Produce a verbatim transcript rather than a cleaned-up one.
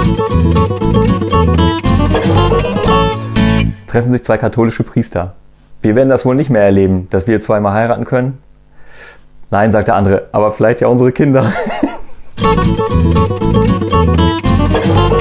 Treffen sich zwei katholische Priester. Wir werden das wohl nicht mehr erleben, dass wir zweimal heiraten können. Nein, sagt der andere, aber vielleicht ja unsere Kinder.